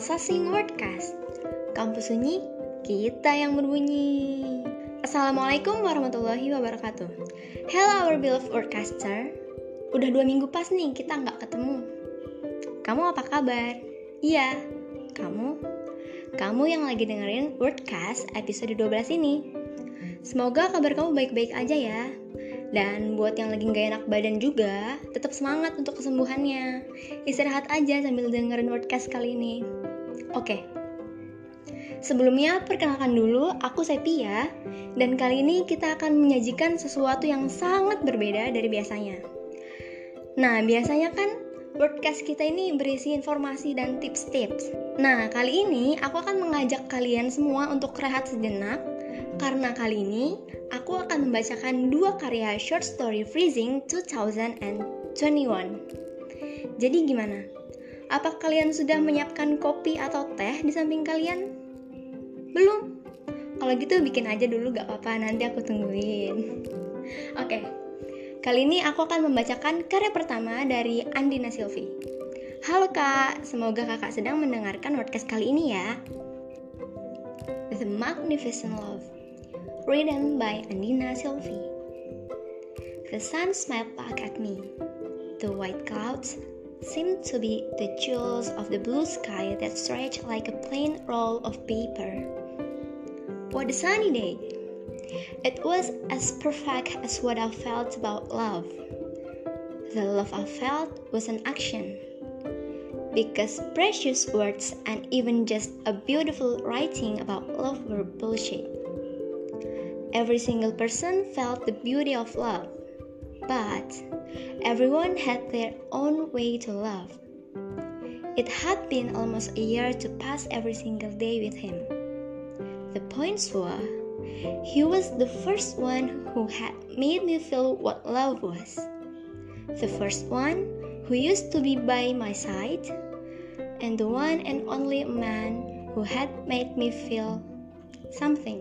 Processing Wordcast. Kampus sunyi, kita yang berbunyi. Assalamualaikum warahmatullahi wabarakatuh. Hello our beloved wordcaster. Udah 2 minggu pas nih kita nggak ketemu. Kamu apa kabar? Iya, kamu yang lagi dengerin Wordcast episode 12 ini. Semoga kabar kamu baik-baik aja ya. Dan buat yang lagi gak enak badan juga, tetap semangat untuk kesembuhannya. Istirahat aja sambil dengerin Wordcast kali ini. Oke. Sebelumnya perkenalkan dulu, aku Sepia. Dan kali ini kita akan menyajikan sesuatu yang sangat berbeda dari biasanya. Nah, biasanya kan Wordcast kita ini berisi informasi dan tips-tips. Nah, kali ini aku akan mengajak kalian semua untuk rehat sejenak. Karena kali ini, aku akan membacakan 2 karya short story Freezing 2021. Jadi gimana? Apa kalian sudah menyiapkan kopi atau teh di samping kalian? Belum? Kalau gitu bikin aja dulu gak apa-apa, nanti aku tungguin. Oke, kali ini aku akan membacakan karya pertama dari Andina Silvi. Halo Kak, semoga kakak sedang mendengarkan podcast kali ini ya. The Magnificent Love, written by Andina Silvi. The sun smiled back at me. The white clouds seemed to be the jewels of the blue sky that stretched like a plain roll of paper. What a sunny day! It was as perfect as what I felt about love. The love I felt was an action. Because precious words and even just a beautiful writing about love were bullshit. Every single person felt the beauty of love, but everyone had their own way to love. It had been almost a year to pass every single day with him. The points were, he was the first one who had made me feel what love was. The first one who used to be by my side, and the one and only man who had made me feel something.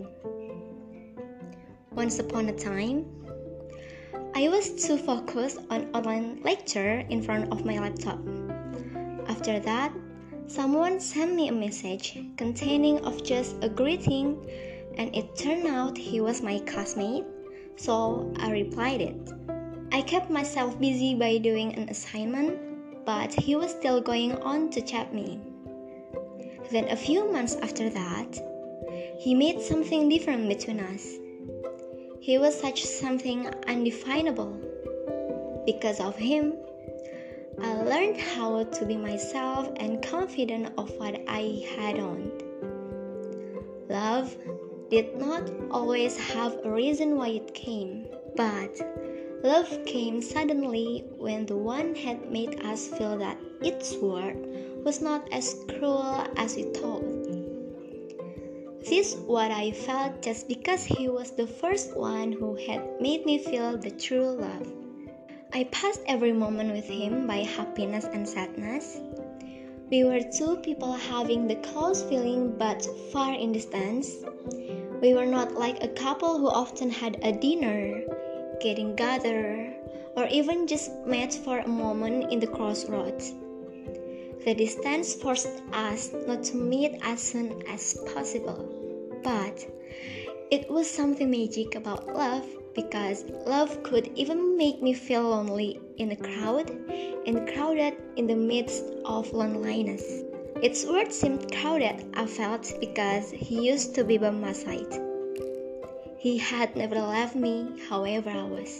Once upon a time, I was too focused on online lecture in front of my laptop. After that, someone sent me a message containing of just a greeting, and it turned out he was my classmate, so I replied it. I kept myself busy by doing an assignment, but he was still going on to chat me. Then a few months after that, he made something different between us. He was such something undefinable. Because of him, I learned how to be myself and confident of what I had on. Love did not always have a reason why it came, but love came suddenly when the one had made us feel that its word was not as cruel as we thought. This is what I felt just because he was the first one who had made me feel the true love. I passed every moment with him by happiness and sadness. We were two people having the close feeling but far in distance. We were not like a couple who often had a dinner, getting together, or even just met for a moment in the crossroads. The distance forced us not to meet as soon as possible, but it was something magic about love because love could even make me feel lonely in a crowd and crowded in the midst of loneliness. Its words seemed crowded, I felt, because he used to be by my side. He had never left me, however I was.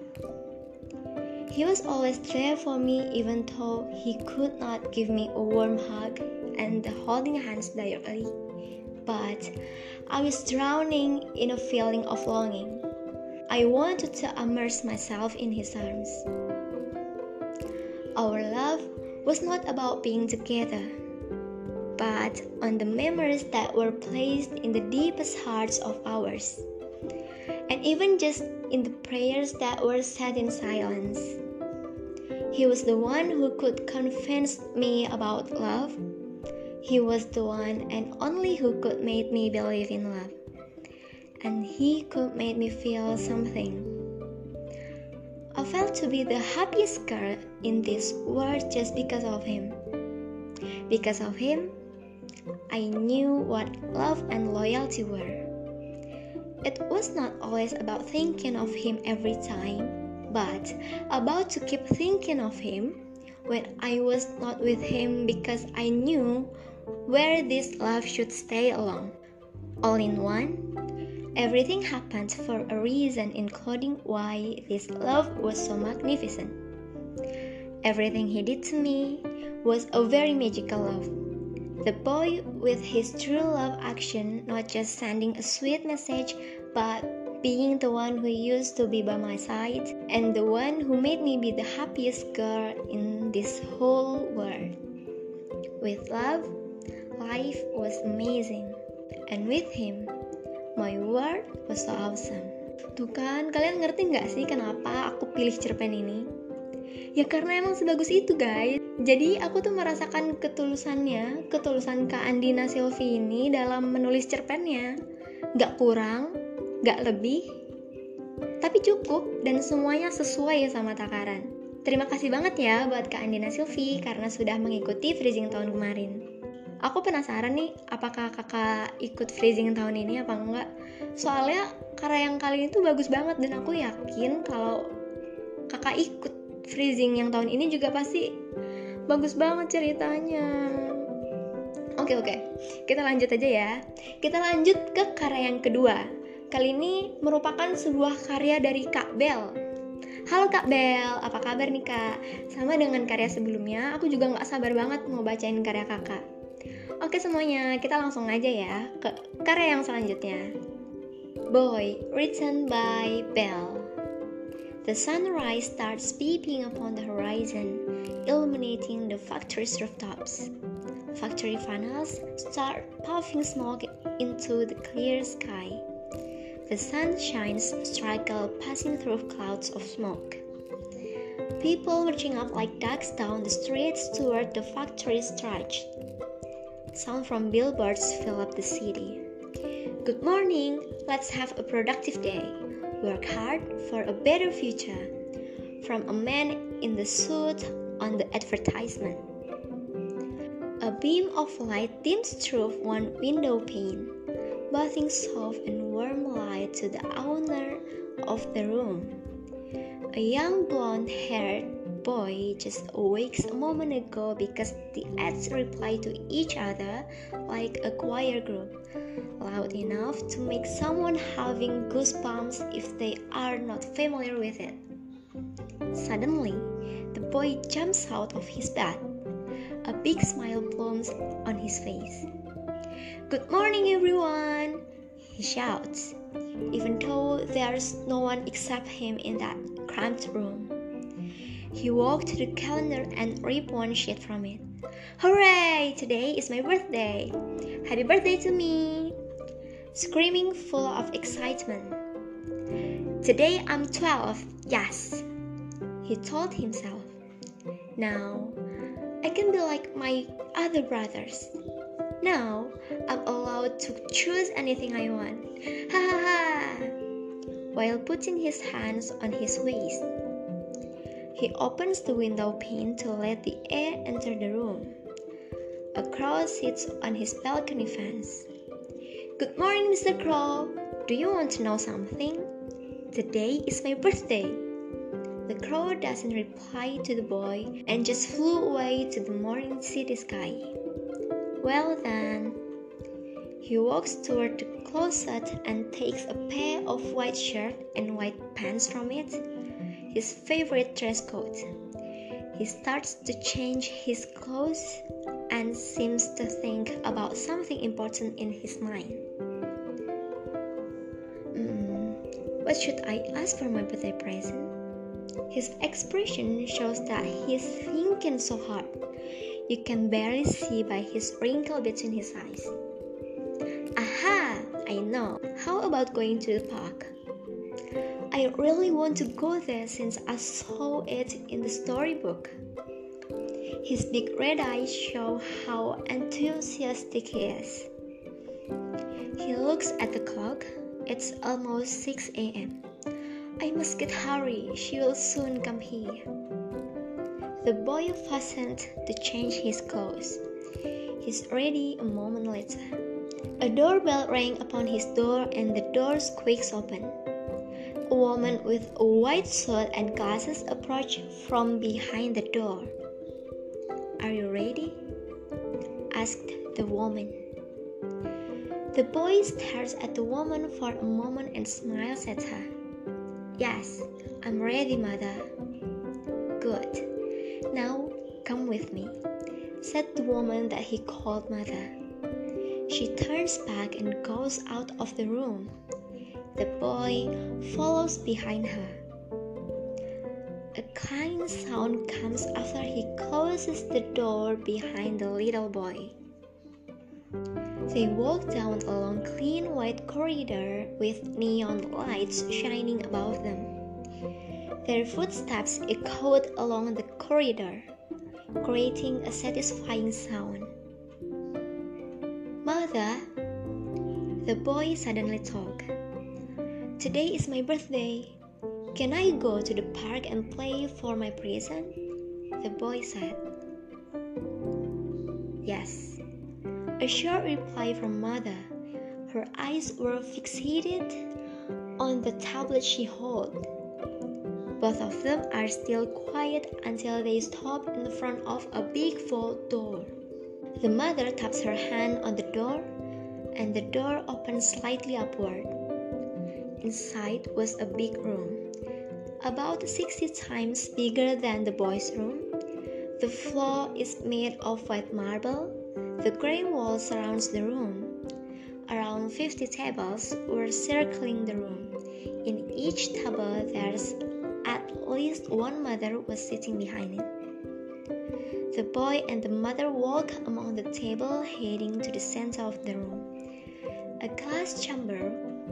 He was always there for me even though he could not give me a warm hug and the holding hands directly. But I was drowning in a feeling of longing. I wanted to immerse myself in his arms. Our love was not about being together, but on the memories that were placed in the deepest hearts of ours. And even just in the prayers that were said in silence. He was the one who could convince me about love. He was the one and only who could make me believe in love. And he could make me feel something. I felt to be the happiest girl in this world just because of him. Because of him, I knew what love and loyalty were. It was not always about thinking of him every time, but about to keep thinking of him when I was not with him because I knew where this love should stay along. All in one, everything happened for a reason, including why this love was so magnificent. Everything he did to me was a very magical love. The boy with his true love action, not just sending a sweet message, but being the one who used to be by my side and the one who made me be the happiest girl in this whole world. With love, life was amazing. And with him, my world was so awesome. Tuh kan, kalian ngerti gak sih kenapa aku pilih cerpen ini? Ya karena emang sebagus itu guys. Jadi aku tuh merasakan ketulusan Kak Andina Sylvie ini dalam menulis cerpennya. Gak kurang, gak lebih, tapi cukup dan semuanya sesuai sama takaran. Terima kasih banget ya buat Kak Andina Sylvie karena sudah mengikuti freezing tahun kemarin. Aku penasaran nih, apakah kakak ikut freezing tahun ini apa enggak? Soalnya karya yang kali ini tuh bagus banget dan aku yakin kalau kakak ikut freezing yang tahun ini juga pasti bagus banget ceritanya. Oke, kita lanjut aja ya. Kita lanjut ke karya yang kedua. Kali ini merupakan sebuah karya dari Kak Bel. Halo Kak Bel, apa kabar nih Kak? Sama dengan karya sebelumnya, aku juga gak sabar banget mau bacain karya kakak. Oke semuanya, kita langsung aja ya ke karya yang selanjutnya. Boy, written by Bel. The sunrise starts peeping upon the horizon, illuminating the factory's rooftops. Factory funnels start puffing smoke into the clear sky. The sun shines struggle passing through clouds of smoke. People marching up like ducks down the streets toward the factory's stretch. Sound from billboards fill up the city. Good morning, let's have a productive day. Work hard for a better future. From a man in the suit on the advertisement. A beam of light dims through one window pane, bathing soft and warm light to the owner of the room. A young blonde-haired boy just awakes a moment ago because the ads reply to each other like a choir group, loud enough to make someone having goosebumps if they are not familiar with it. Suddenly, the boy jumps out of his bed. A big smile blooms on his face. Good morning, everyone! He shouts, even though there's no one except him in that cramped room. He walked to the calendar and ripped one sheet from it. Hooray! Today is my birthday! Happy birthday to me! Screaming full of excitement. Today I'm 12, yes! He told himself. Now, I can be like my other brothers. Now, I'm allowed to choose anything I want. Ha ha ha! While putting his hands on his waist. He opens the window pane to let the air enter the room. A crow sits on his balcony fence. Good morning, Mr. Crow. Do you want to know something? Today is my birthday. The crow doesn't reply to the boy and just flew away to the morning city sky. Well then, he walks toward the closet and takes a pair of white shirt and white pants from it, his favorite dress coat. He starts to change his clothes and seems to think about something important in his mind. What should I ask for my birthday present? His expression shows that he's thinking so hard. You can barely see by his wrinkle between his eyes. Aha! I know. How about going to the park? I really want to go there since I saw it in the storybook. His big red eyes show how enthusiastic he is. He looks at the clock. It's almost 6 a.m. I must get hurry. She will soon come here. The boy fastened to change his clothes. He's ready a moment later. A doorbell rang upon his door and the door squeaks open. A woman with a white suit and glasses approached from behind the door. "Are you ready?" asked the woman. The boy stares at the woman for a moment and smiles at her. "Yes, I'm ready, mother." "Good. Now come with me," said the woman that he called mother. She turns back and goes out of the room. The boy follows behind her. A clang sound comes after he closes the door behind the little boy. They walk down a long clean white corridor with neon lights shining above them. Their footsteps echoed along the corridor, creating a satisfying sound. "Mother," the boy suddenly talked, "today is my birthday. Can I go to the park and play for my present?" The boy said. "Yes," a short reply from mother. Her eyes were fixated on the tablet she held. Both of them are still quiet until they stop in front of a big vault door. The mother taps her hand on the door, and the door opens slightly upward. Inside was a big room, about 60 times bigger than the boy's room. The floor is made of white marble. The gray wall surrounds the room. Around 50 tables were circling the room. In each table there's at least one mother was sitting behind it. The boy and the mother walk among the table, heading to the center of the room. A glass chamber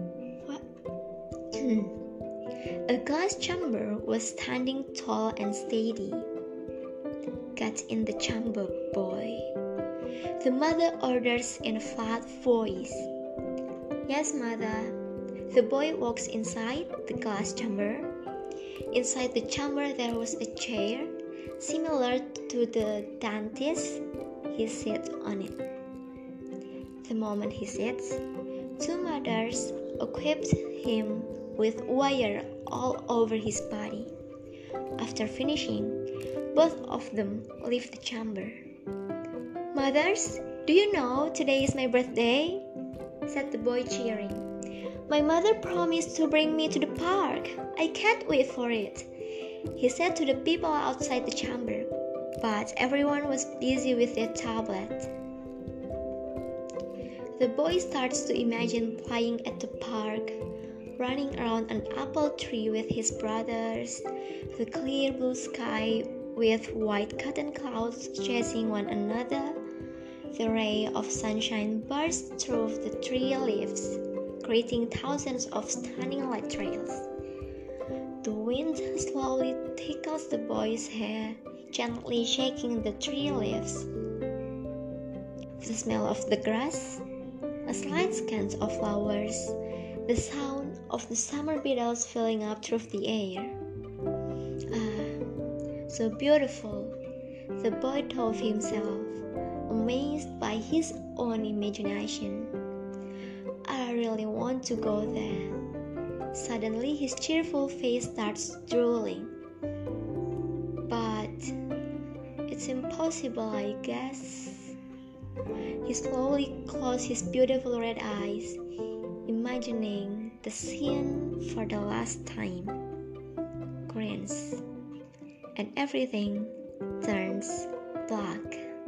was standing tall and steady. "Get in the chamber, boy," the mother orders in a flat voice. "Yes, mother." The boy walks inside the glass chamber. Inside the chamber there was a chair, similar to the dentist. He sits on it. The moment he sits, two mothers equipped him with wire all over his body. After finishing, both of them leave the chamber. "Mothers, do you know today is my birthday?" said the boy, cheering. "My mother promised to bring me to the park. I can't wait for it," he said to the people outside the chamber, but everyone was busy with their tablet. The boy starts to imagine playing at the park, running around an apple tree with his brothers, the clear blue sky with white cotton clouds chasing one another. The ray of sunshine bursts through the tree leaves, creating thousands of stunning light trails. The wind slowly tickles the boy's hair, gently shaking the tree leaves. The smell of the grass, a slight scent of flowers, the sound of the summer beetles filling up through the air. "Ah, so beautiful," the boy told himself, amazed by his own imagination. "I really want to go there." Suddenly his cheerful face starts drooling. "But it's impossible, I guess." He slowly closed his beautiful red eyes, imagining the scene for the last time. Grins, and everything turns black.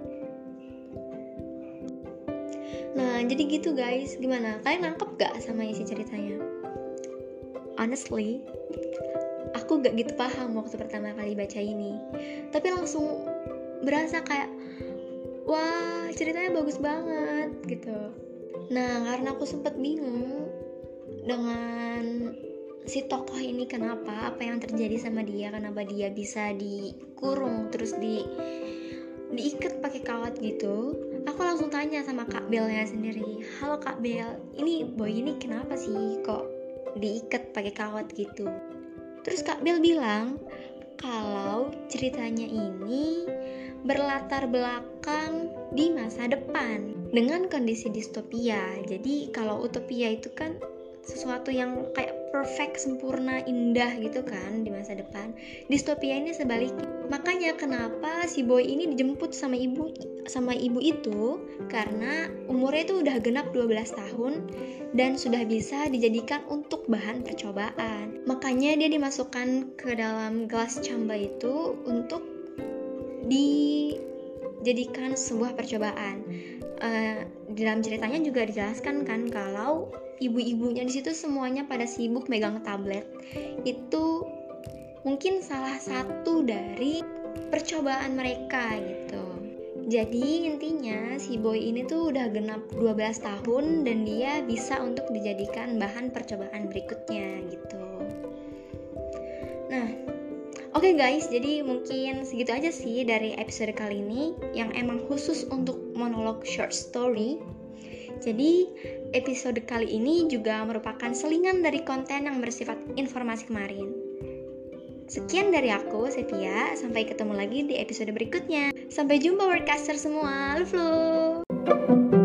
Nah, jadi gitu guys. Gimana? Kalian nangkep gak sama isi ceritanya? Honestly, aku gak gitu paham waktu pertama kali baca ini. Tapi langsung berasa kayak, wah, ceritanya bagus banget gitu. Nah, karena aku sempat bingung dengan si tokoh ini kenapa, apa yang terjadi sama dia, kenapa dia bisa dikurung terus diikat pakai kawat gitu. Aku langsung tanya sama Kak Belnya sendiri, "Halo Kak Bel, ini boy ini kenapa sih kok diikat pakai kawat gitu?" Terus Kak Bel bilang kalau ceritanya ini berlatar belakang di masa depan dengan kondisi distopia. Jadi kalau utopia itu kan sesuatu yang kayak perfect, sempurna, indah gitu kan di masa depan. Distopia ini sebaliknya. Makanya kenapa si boy ini dijemput sama ibu itu karena umurnya itu udah genap 12 tahun dan sudah bisa dijadikan untuk bahan percobaan. Makanya dia dimasukkan ke dalam glass chamber itu untuk dijadikan sebuah percobaan. Di dalam ceritanya juga dijelaskan kan kalau ibu-ibunya di situ semuanya pada sibuk megang tablet. Itu mungkin salah satu dari percobaan mereka gitu. Jadi intinya si boy ini tuh udah genap 12 tahun dan dia bisa untuk dijadikan bahan percobaan berikutnya gitu. Nah, oke guys, jadi mungkin segitu aja sih dari episode kali ini yang emang khusus untuk monolog short story. Jadi episode kali ini juga merupakan selingan dari konten yang bersifat informasi kemarin. Sekian dari aku, Sepia. Sampai ketemu lagi di episode berikutnya. Sampai jumpa Wordcaster semua. Love.